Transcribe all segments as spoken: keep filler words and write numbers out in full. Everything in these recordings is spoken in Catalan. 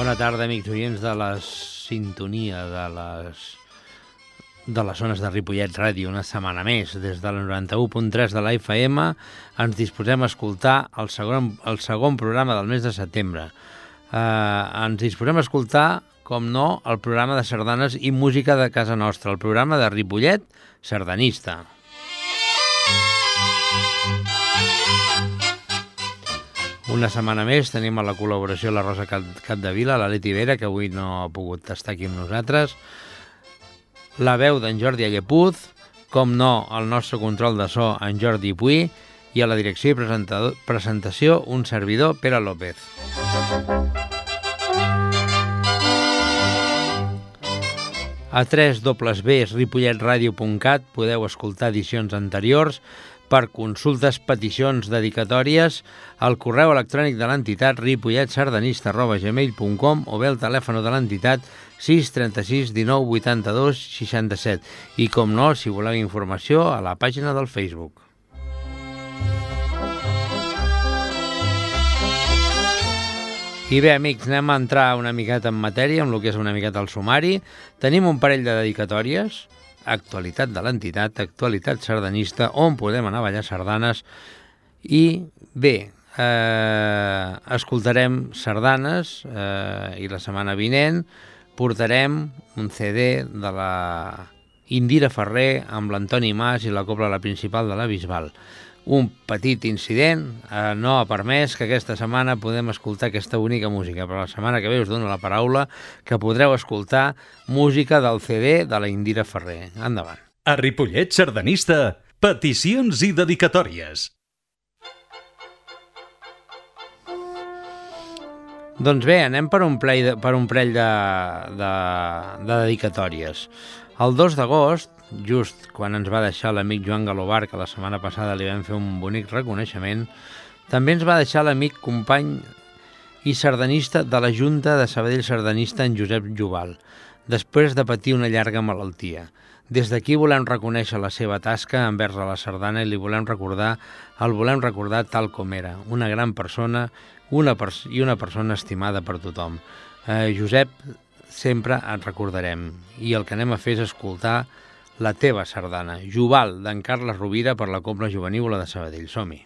Bona tarda, amics oients de la sintonia de les, de les zones de Ripollet Ràdio. Una setmana més, des del noranta-u punt tres de la F M, ens disposem a escoltar el segon, el segon programa del mes de setembre. Eh, ens disposem a escoltar, com no, el programa de sardanes i música de casa nostra, el programa de Ripollet Sardanista. Una setmana més tenim a la col·laboració la Rosa Capdevila, la Leti Vera, que avui no ha pogut estar aquí amb nosaltres, la veu d'en Jordi Allepuz, com no, el nostre control de so, en Jordi Puy, i a la direcció i presentació, un servidor, Pere López. A w w w punt ripollet ràdio punt cat podeu escoltar edicions anteriors, per consultes, peticions, dedicatòries, al correu electrònic de l'entitat ripolletsardanista arroba gmail punt com o bé el telèfon de l'entitat sis trenta-sis dinou vuitanta-dos seixanta-set. I, com no, si voleu informació, a la pàgina del Facebook. I bé, amics, anem a entrar una miqueta en matèria, amb el que és una miqueta el sumari. Tenim un parell de dedicatòries, actualitat de l'entitat, actualitat sardanista, on podem anar a ballar sardanes. I bé, eh, escoltarem sardanes eh, i la setmana vinent portarem un C D de la Indira Ferrer amb l'Antoni Mas i la cobla La Principal de la Bisbal. Un petit incident eh, no ha permès que aquesta setmana podem escoltar aquesta bonica música, però la setmana que ve us dono la paraula que podreu escoltar música del C D de la Indira Ferrer. Endavant. A Ripollet Sardanista, peticions i dedicatòries. Doncs bé, anem per un parell de, per un parell de, de, de dedicatòries. El dos d'agost, just quan ens va deixar l'amic Joan Galobar, que la setmana passada li vam fer un bonic reconeixement, també ens va deixar l'amic company i sardanista de la Junta de Sabadell Sardanista, en Josep Jubal, després de patir una llarga malaltia. Des d'aquí volem reconèixer la seva tasca envers a la sardana i li volem recordar, el volem recordar tal com era, una gran persona una pers i una persona estimada per tothom. Eh, Josep, sempre et recordarem, i el que anem a fer és escoltar la teva sardana, Jubal, d'en Carles Rovira, per la Cobla Jovenívola de Sabadell. Som-hi!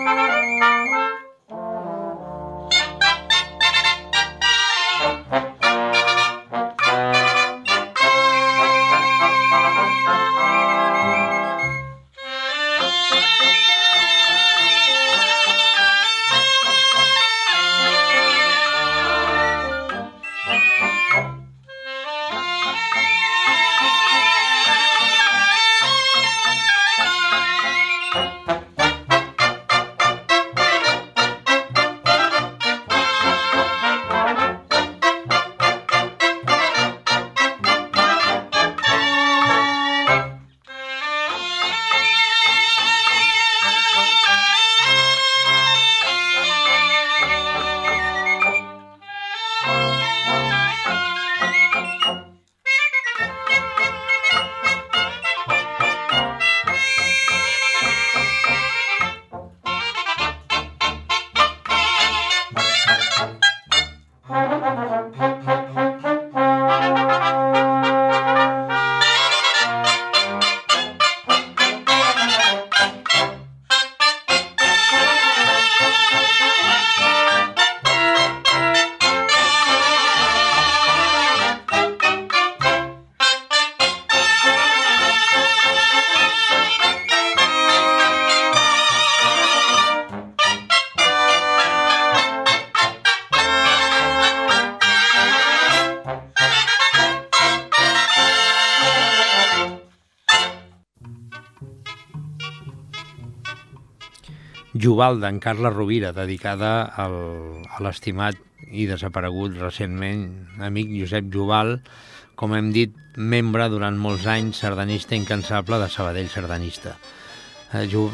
Jubal d'en Carles Rovira, dedicada al, a l'estimat i desaparegut recentment amic Josep Jubal, com hem dit, membre durant molts anys, sardanista incansable de Sabadell Sardanista. Eh, Ju,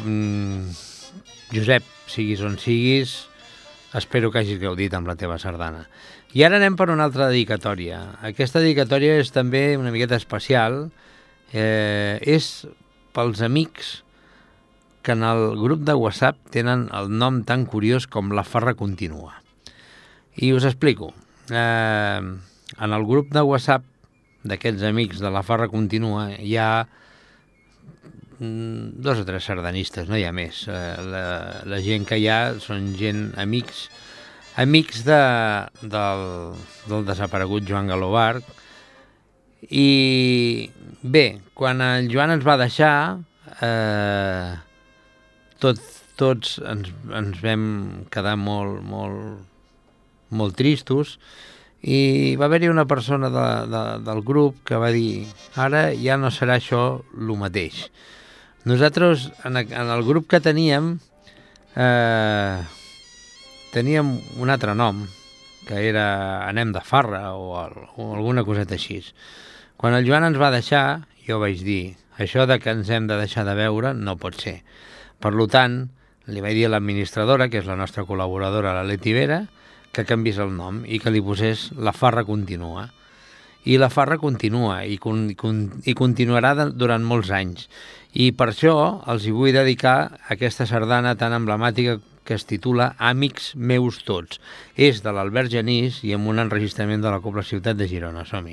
mm, Josep, siguis on siguis, espero que hagis gaudit amb la teva sardana. I ara anem per una altra dedicatòria. Aquesta dedicatòria és també una miqueta especial, eh, és pels amics que en el grup de WhatsApp tenen el nom tan curiós com La Farra Continua. I us explico. Eh, en el grup de WhatsApp d'aquests amics de La Farra Continua hi ha mm, dos o tres sardanistes, no hi ha més. Eh, la, la gent que hi ha són gent, amics, amics de, del, del desaparegut Joan Galobarg. I bé, quan el Joan ens va deixar, eh, Tot, tots ens, ens vam quedar molt, molt, molt tristos i va haver-hi una persona de, de, del grup que va dir ara ja no serà això el mateix. Nosaltres, en, en el grup que teníem, eh, teníem un altre nom, que era Anem de Farra o, el, o alguna coseta així. Quan el Joan ens va deixar, jo vaig dir, això de que ens hem de deixar de veure no pot ser. Per tant, li vaig dir a l'administradora, que és la nostra col·laboradora, la Leti Vera, que canviés el nom i que li posés La Farra Continua. I La Farra continua i, con, con, i continuarà de, durant molts anys. I per això els hi vull dedicar aquesta sardana tan emblemàtica que es titula Amics meus tots. És de l'Albert Genís i amb un enregistrament de la Cobla Ciutat de Girona. Som-hi.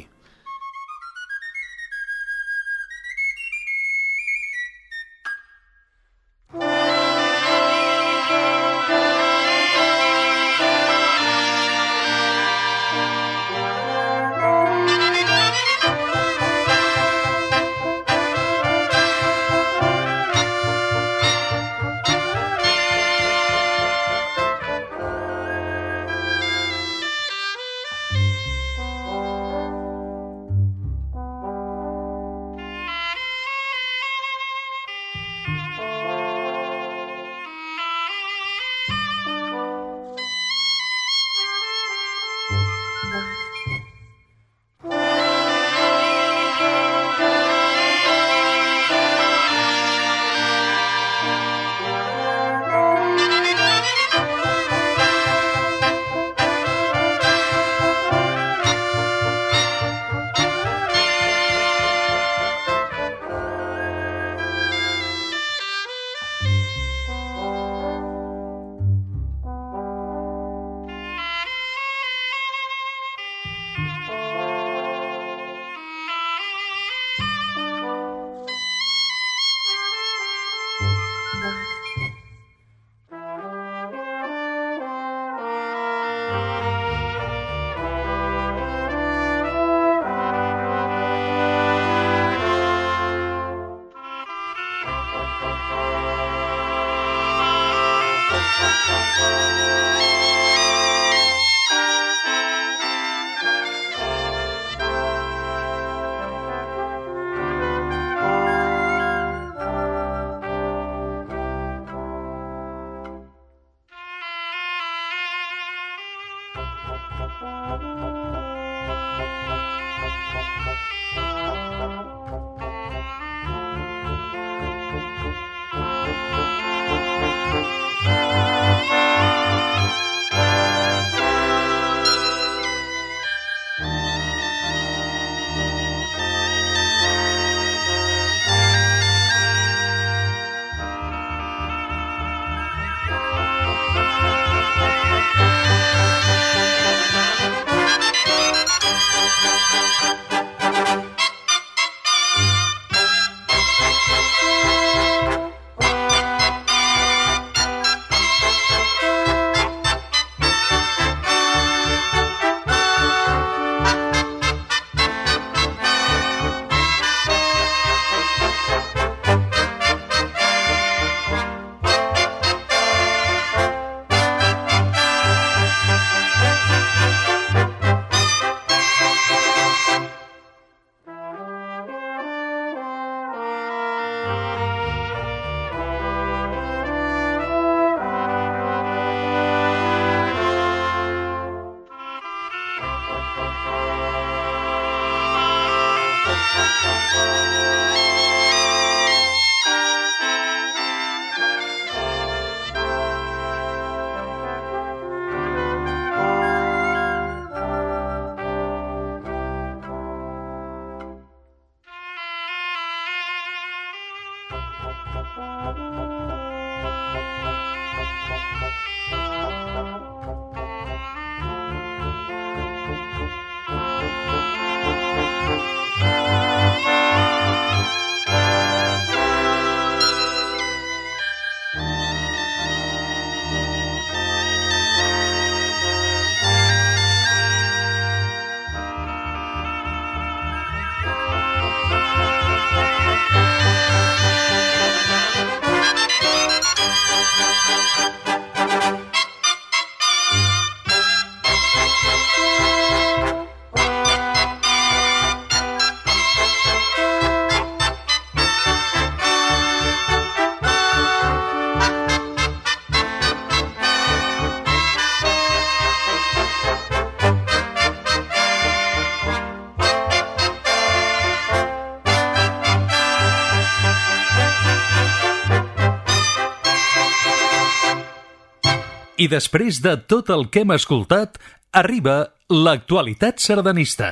I després de tot el que hem escoltat, arriba l'actualitat sardanista.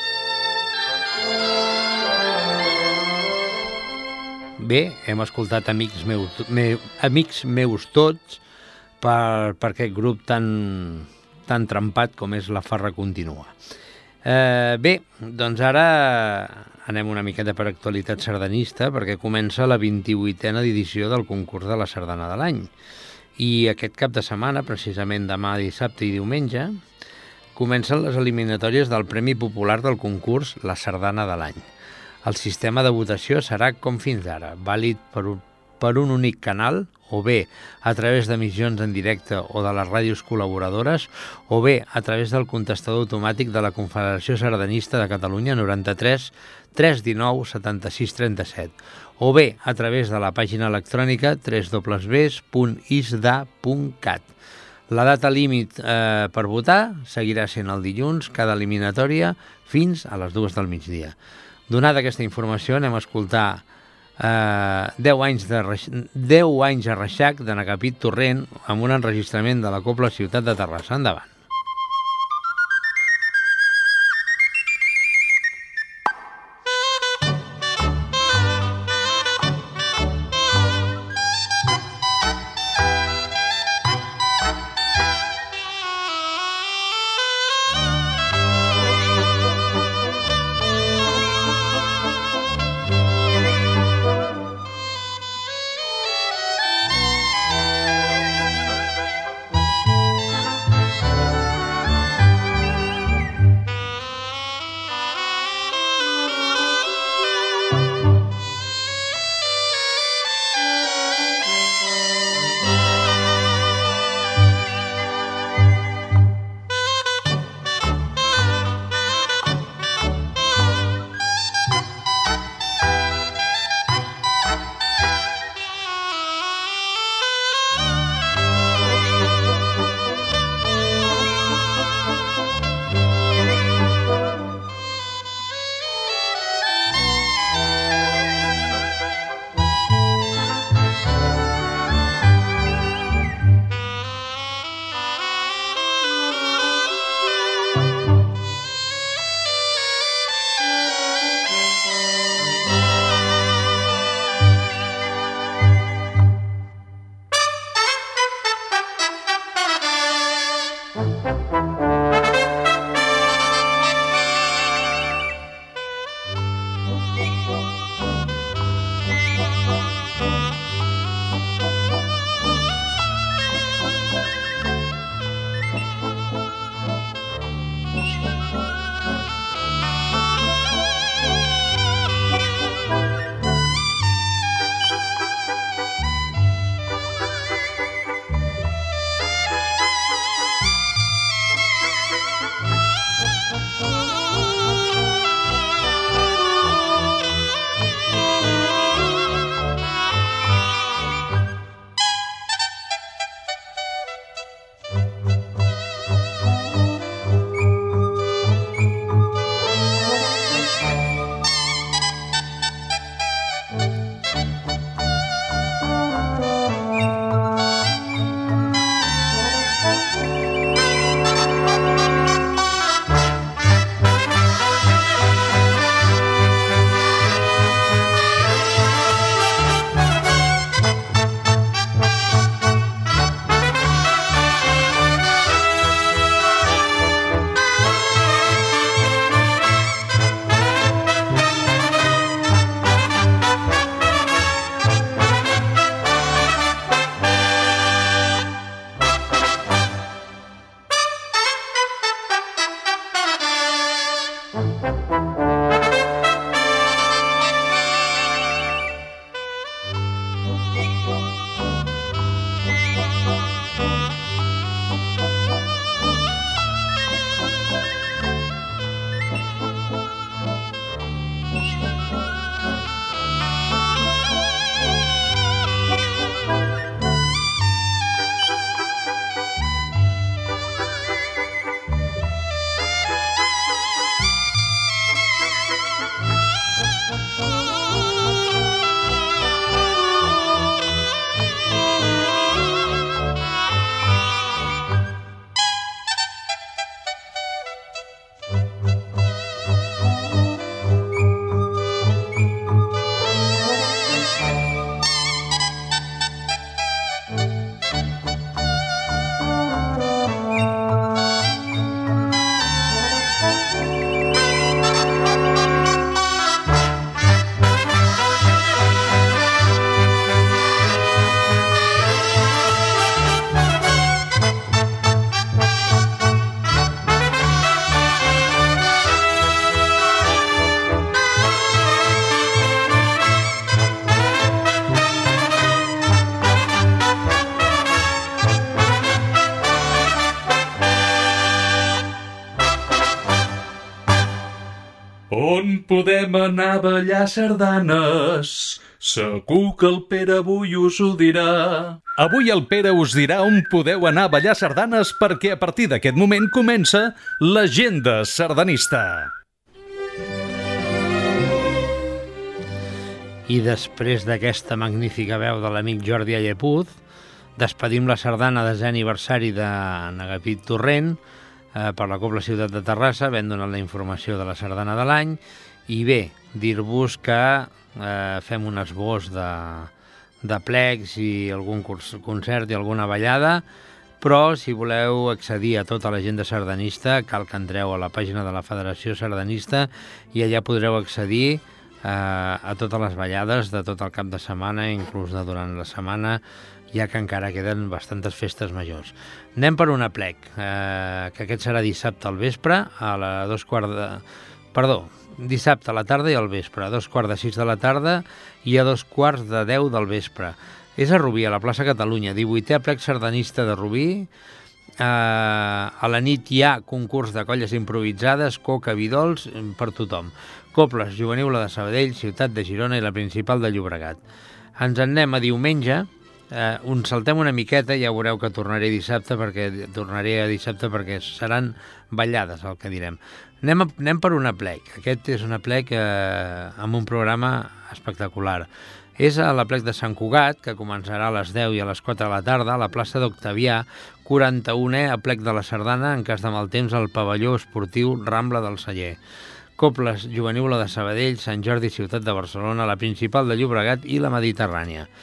Bé, hem escoltat Amics meus, me, amics meus tots per, per aquest grup tan, tan trempat com és La Farra Continua. Eh, bé, doncs ara anem una miqueta per actualitat sardanista perquè comença la vint-i-vuitena edició del concurs de la sardana de l'any. I aquest cap de setmana, precisament demà, dissabte i diumenge, comencen les eliminatòries del Premi Popular del concurs La Sardana de l'any. El sistema de votació serà com fins ara, vàlid per un, per un únic canal, o bé a través d'emissions en directe o de les ràdios col·laboradores, o bé a través del contestador automàtic de la Confederació Sardanista de Catalunya noranta-tres tres cents dinou setanta-sis trenta-set, o bé a través de la pàgina electrònica w w w punt i s d a punt cat. La data límit eh, per votar seguirà sent el dilluns, cada eliminatòria, fins a les dues del migdia. Donada aquesta informació, anem a escoltar eh, deu anys de deu anys a Reixac de Nagapit Torrent amb un enregistrament de la Cobla Ciutat de Terrassa. Endavant. On podem anar a ballar sardanes? Segur que el Pere avui us ho dirà. Avui el Pere us dirà on podeu anar a ballar sardanes perquè a partir d'aquest moment comença l'agenda sardanista. I després d'aquesta magnífica veu de l'amic Jordi Allepuz, despedim la sardana desè aniversari de N'Agapit Torrent eh, per la Cobla Ciutat de Terrassa, ben donat la informació de la sardana de l'any. I bé, dir-vos que eh, fem un esbós de, de plecs i algun concert i alguna ballada, però si voleu accedir a tota l'agenda sardanista cal que entreu a la pàgina de la Federació Sardanista i allà podreu accedir eh, a totes les ballades de tot el cap de setmana, inclús de durant la setmana, ja que encara queden bastantes festes majors. Anem per un aplec, eh, que aquest serà dissabte al vespre, a la dos quarts de... Perdó, dissabte a la tarda i al vespre, a dos quarts de sis de la tarda i a dos quarts de deu del vespre. És a Rubí, a la plaça Catalunya, divuitè aplec sardanista de Rubí. Eh, a la nit hi ha concurs de colles improvisades, coca, vi dolç, per tothom. Cobles, Juvenil de Sabadell, Ciutat de Girona i la Principal de Llobregat. Ens en anem a diumenge. Eh, uns saltem una miqueta, ja veureu que tornaré dissabte perquè tornaré a dissabte perquè seran ballades, el que direm. Anem, a, anem per un aplec. Aquest és un aplec eh, amb un programa espectacular. És a l'aplec de Sant Cugat, que començarà a les deu i a les quatre de la tarda, a la plaça d'Octavià, quaranta-unè aplec de la sardana, en cas de mal temps, al pavelló esportiu Rambla del Celler. Cobles, Juvenil de Sabadell, Sant Jordi, Ciutat de Barcelona, la Principal de Llobregat i la Mediterrània.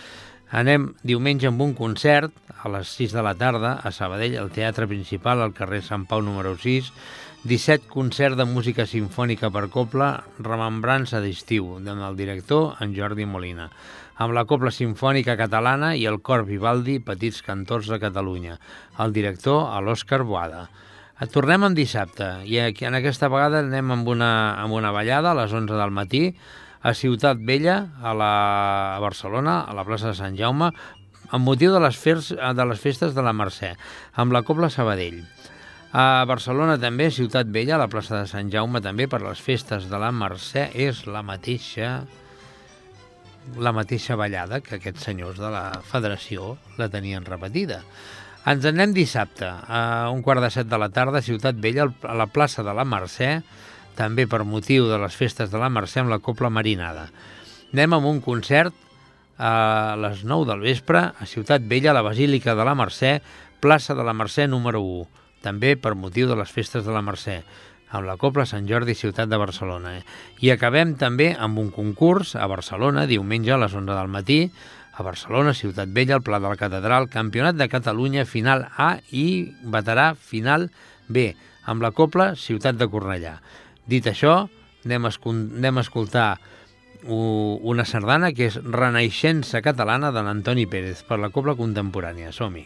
Anem diumenge amb un concert a les sis de la tarda a Sabadell, al Teatre Principal, al carrer Sant Pau número sis, disset concert de música sinfònica per cobla, remembrança d'estiu, amb el director, en Jordi Molina, amb la Cobla Simfònica Catalana i el Cor Vivaldi, Petits Cantors de Catalunya, el director, l'Òscar Boada. Tornem en dissabte i en aquesta vegada anem amb una, amb una ballada a les onze del matí a Ciutat Vella, a, la, a Barcelona, a la plaça de Sant Jaume, amb motiu de les, fers, de les festes de la Mercè, amb la Cobla Sabadell. A Barcelona també, Ciutat Vella, a la plaça de Sant Jaume també, per les festes de la Mercè, és la mateixa, la mateixa ballada que aquests senyors de la federació la tenien repetida. Ens anem dissabte, a un quart de set de la tarda, a Ciutat Vella, a la plaça de la Mercè, també per motiu de les festes de la Mercè, amb la Cobla Marinada. Anem amb un concert a les nou del vespre, a Ciutat Vella, a la Basílica de la Mercè, plaça de la Mercè número u, també per motiu de les festes de la Mercè, amb la Cobla Sant Jordi, ciutat de Barcelona. I acabem també amb un concurs a Barcelona, diumenge a les onze del matí, a Barcelona, Ciutat Vella, al Pla de la Catedral, Campionat de Catalunya, final A i veterà final B, amb la Cobla Ciutat de Cornellà. Dit això, anem a, anem a escoltar una sardana que és Renaixença Catalana de l'Antoni Pérez per la Cobla Contemporània. Som-hi!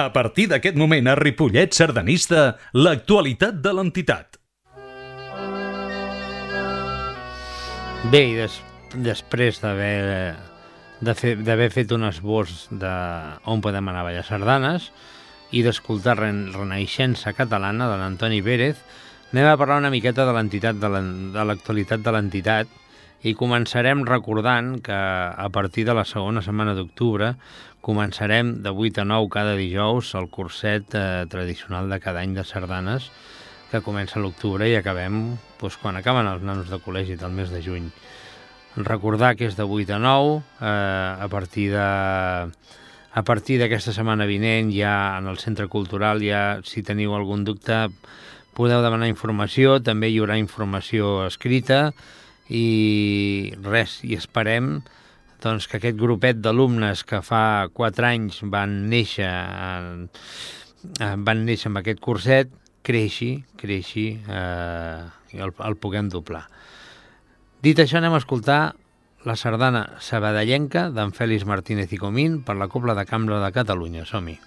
A partir d'aquest moment a Ripollet Sardanista, l'actualitat de l'entitat. Bé, i des, després d'haver de fer, d'haver fet un esbós de on podem anar a ballar sardanes i d'escoltar Renaixença Catalana de l'Antoni Pérez, anem a parlar una miqueta de l'entitat, de l'actualitat de l'entitat, i començarem recordant que a partir de la segona setmana d'octubre començarem de vuit a nou cada dijous el curset eh, tradicional de cada any de sardanes, que comença a l'octubre i acabem doncs, quan acaben els nanos de col·legi del mes de juny. Recordar que és de vuit a nou, eh, a partir de... A partir d'aquesta setmana vinent ja en el Centre Cultural, ja si teniu algun dubte podeu demanar informació, també hi haurà informació escrita i res, i esperem doncs, que aquest grupet d'alumnes que fa quatre anys van néixer, en, van néixer amb aquest curset, creixi, creixi eh, i el, el puguem doblar. Dit això, anem a escoltar la sardana sabadellenca d'en Fèlix Martínez i Comín per la Cobla de Cambra de Catalunya. Som-hi!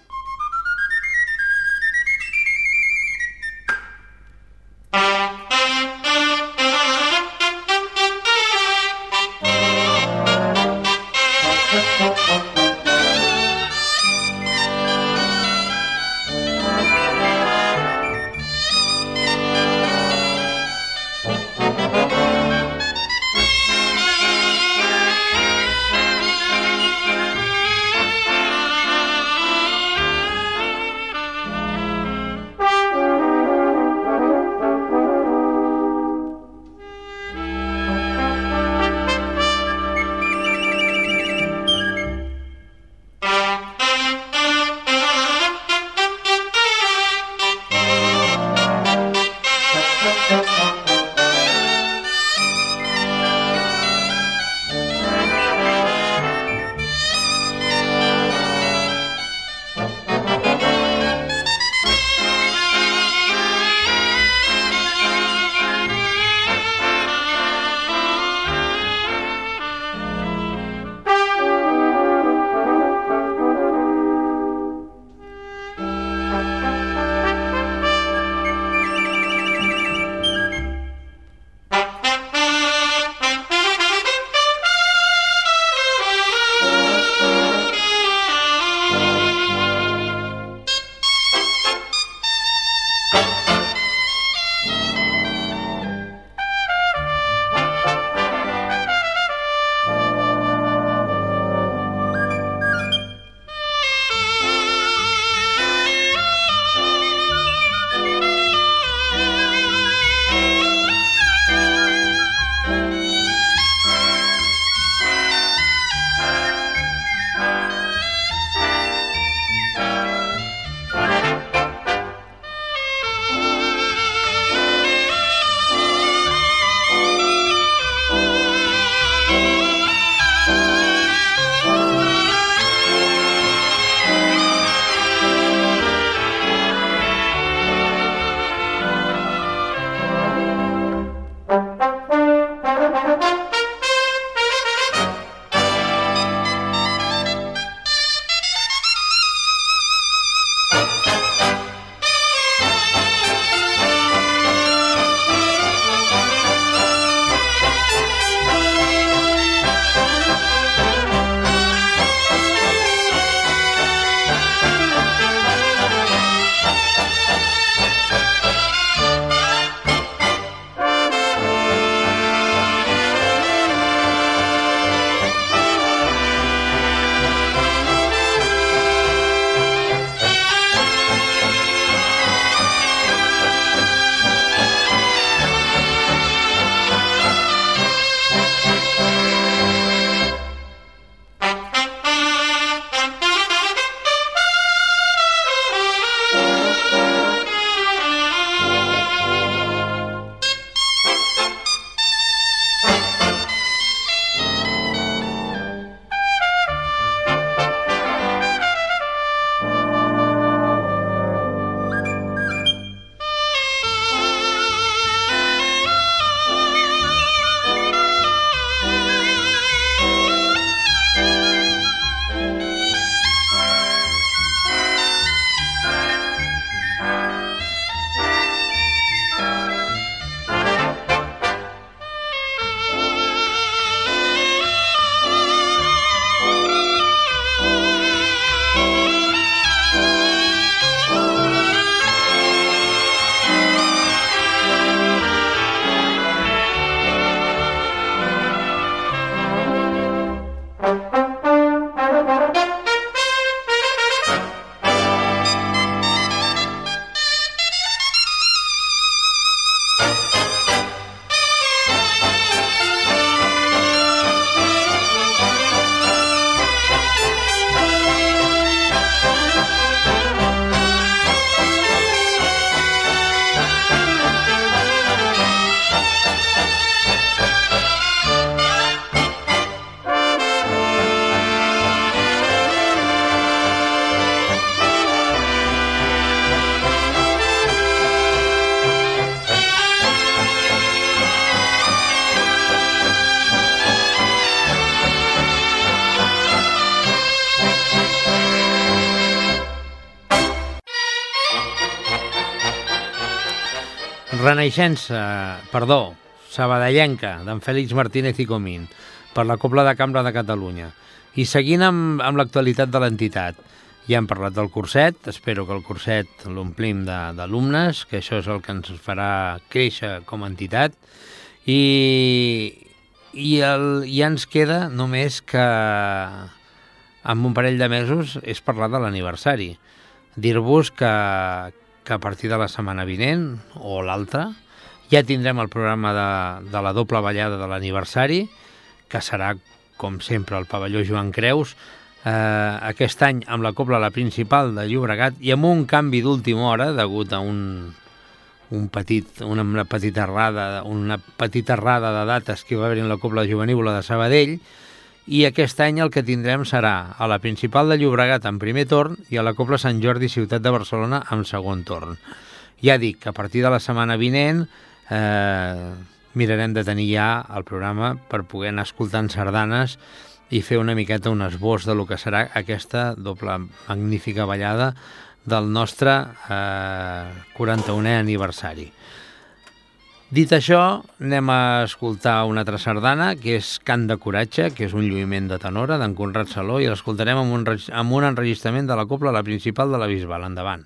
Renaixença, perdó, sabadellenca, d'en Fèlix Martínez i Comín, per la Cobla de Cambra de Catalunya. I seguint amb, amb l'actualitat de l'entitat, ja hem parlat del curset, espero que el curset l'omplim d'alumnes, que això és el que ens farà créixer com a entitat, i, i el, ja ens queda només que amb un parell de mesos és parlar de l'aniversari. Dir-vos que, que a partir de la setmana vinent o l'altra ja tindrem el programa de, de la doble ballada de l'aniversari, que serà, com sempre, al pavelló Joan Creus, eh, aquest any amb la Cobla La Principal de Llobregat i amb un canvi d'última hora degut a un, un petit, una, una petita errada, una petita errada de dates que va haver en la Cobla Jovenívola de Sabadell, i aquest any el que tindrem serà a la Principal de Llobregat en primer torn i a la Cobla Sant Jordi Ciutat de Barcelona en segon torn. Ja dic que a partir de la setmana vinent eh, mirarem de tenir ja el programa per poder anar escoltant sardanes i fer una miqueta un esbós de lo que serà aquesta doble magnífica ballada del nostre eh, quaranta-unè aniversari. Dit això, anem a escoltar una altra sardana, que és Cant de Coratge, que és un lluïment de tenora d'en Conrad Saló, i l'escoltarem amb, un, amb un enregistrament de la Cobla La Principal de la Bisbal. Endavant.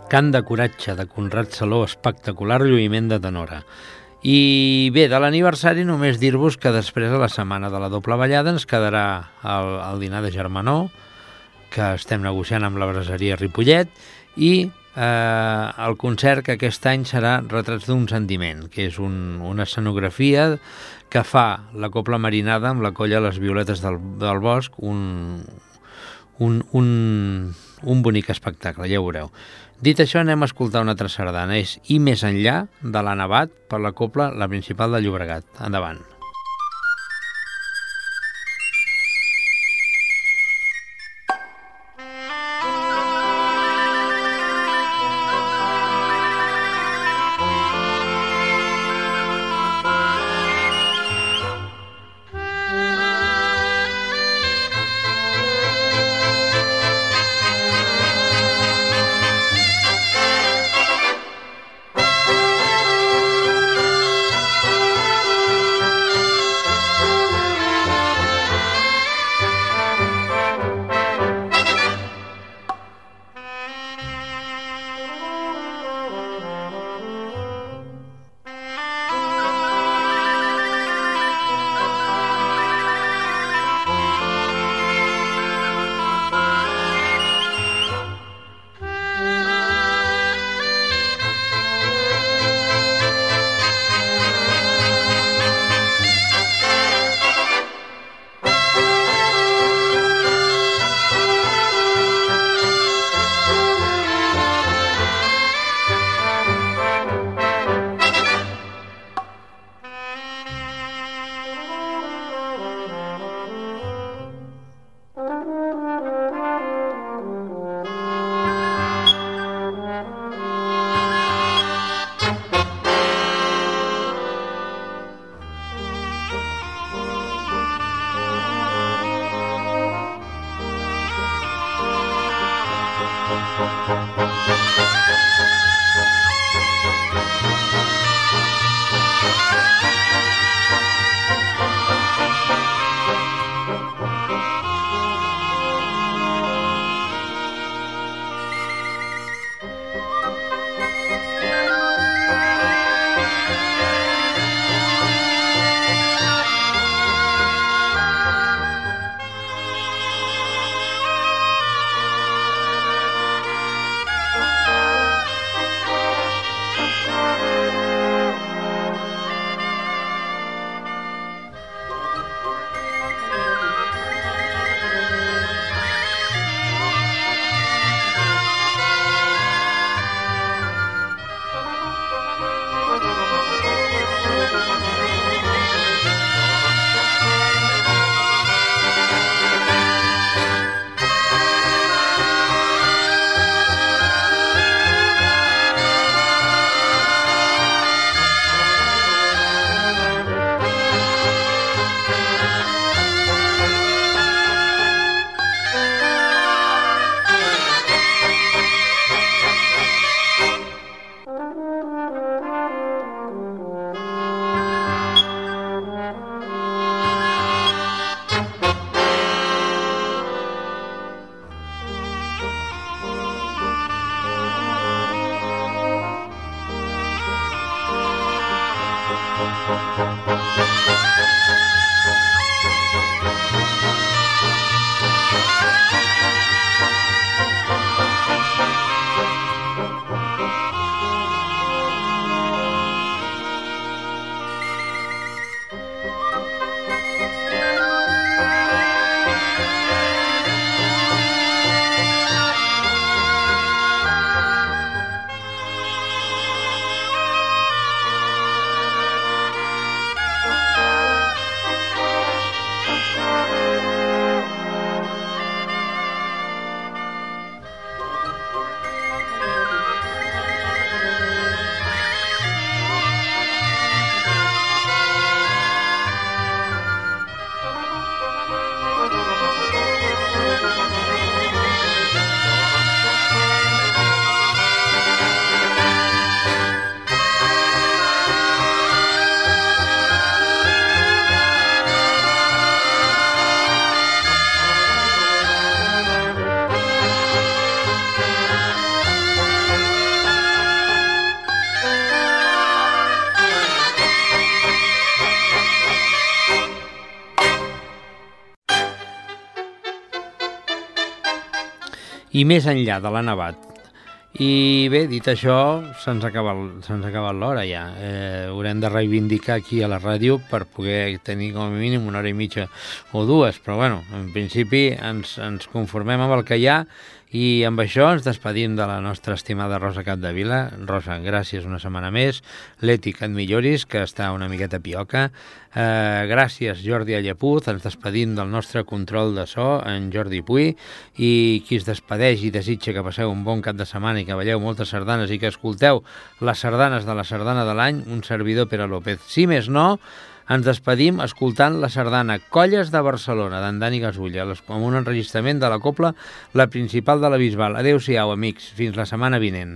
Cant de coratge de Conrad Saló, espectacular lluïment de tenora. I bé, de l'aniversari només dir-vos que després de la setmana de la doble ballada ens quedarà el, el dinar de germanor, que estem negociant amb la braseria Ripollet, i eh, el concert que aquest any serà Retrats d'un sentiment, que és un, una escenografia que fa la Cobla Marinada amb la colla Les Violetes del, del Bosc, un, un, un, un bonic espectacle, ja ho veureu. Dit això, anem a escoltar una altra sardana. És I més enllà, de l'Anna Abad, per la Cobla La Principal de Llobregat. Endavant. i més enllà de la Nevat. I bé, dit això, se'ns ha acabat, se'ns ha acabat l'hora ja. Eh, haurem de reivindicar aquí a la ràdio per poder tenir com a mínim una hora i mitja o dues, però bueno, en principi ens, ens conformem amb el que hi ha i amb això ens despedim de la nostra estimada Rosa Capdevila. Rosa, gràcies una setmana més. Leti, que et milloris, que està una miqueta pioca. Eh, gràcies, Jordi Allapuz. Ens despedim del nostre control de so, en Jordi Puy, i qui es despedeix i desitja que passeu un bon cap de setmana i que balleu moltes sardanes i que escolteu les sardanes de la sardana de l'any, un servidor, Pere López. Si més no, ens despedim escoltant la sardana Colles de Barcelona, d'en Dani Gasulla, amb un enregistrament de la cobla La Principal de la Bisbal. Adéu-siau, amics. Fins la setmana vinent.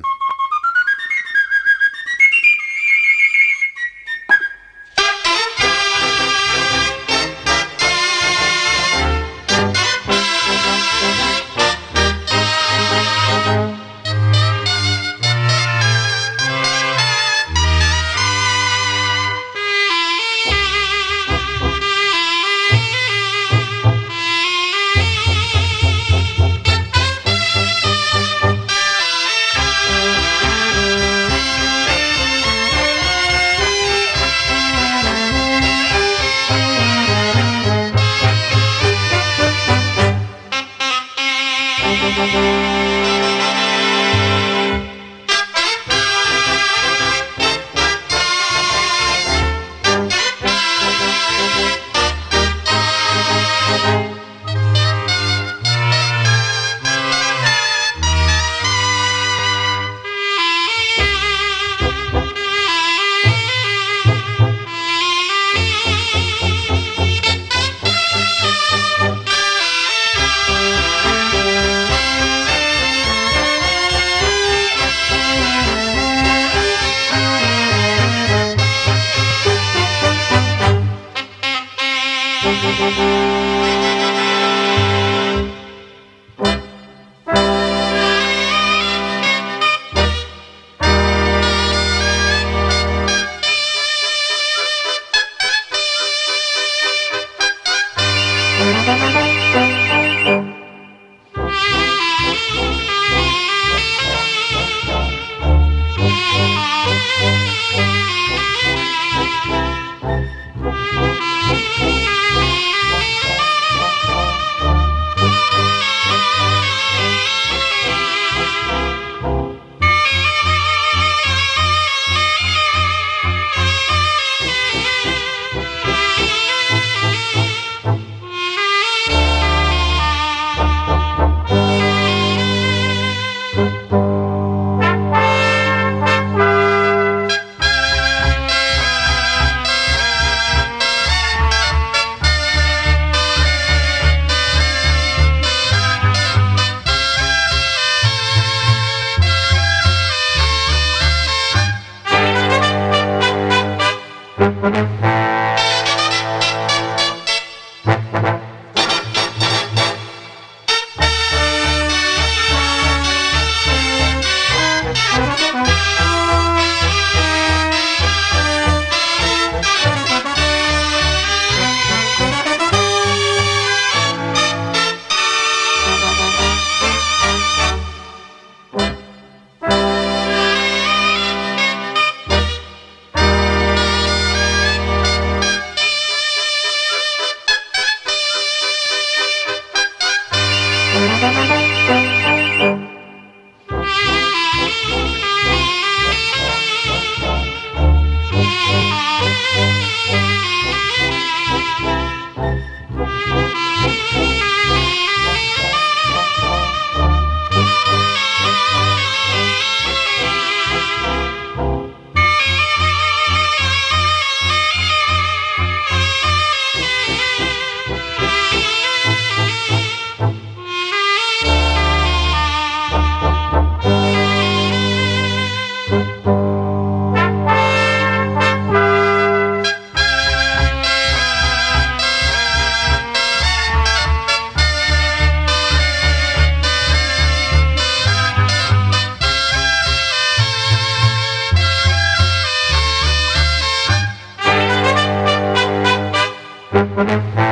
Thank you.